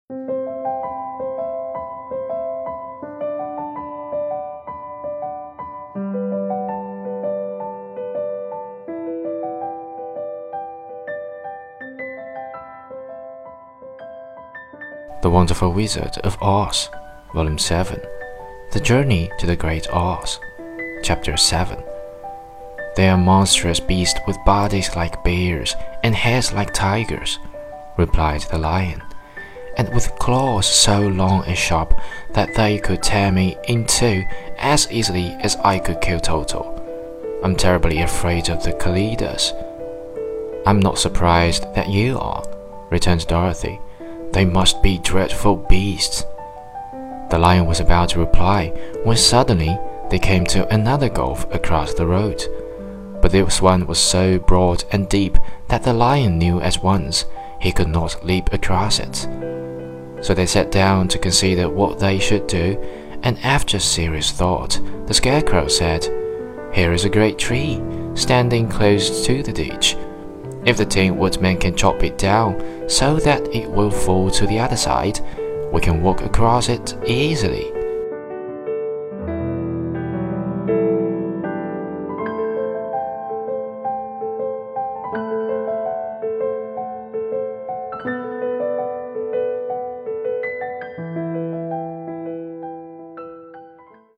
The Wonderful Wizard of Oz, Volume 7, The Journey to the Great Oz, Chapter 7. They are monstrous beasts with bodies like bears and heads like tigers, replied the lion, and with claws so long and sharp that they could tear me in two as easily as I could kill Toto. I'm terribly afraid of the Kallidas. I'm not surprised that you are, returned Dorothy. They must be dreadful beasts. The lion was about to reply when suddenly they came to another gulf across the road. But this one was so broad and deep that the lion knew at once he could not leap across it. So they sat down to consider what they should do, and after serious thought, the Scarecrow said, "Here is a great tree, standing close to the ditch. If the Tin Woodman can chop it down so that it will fall to the other side, we can walk across it easily."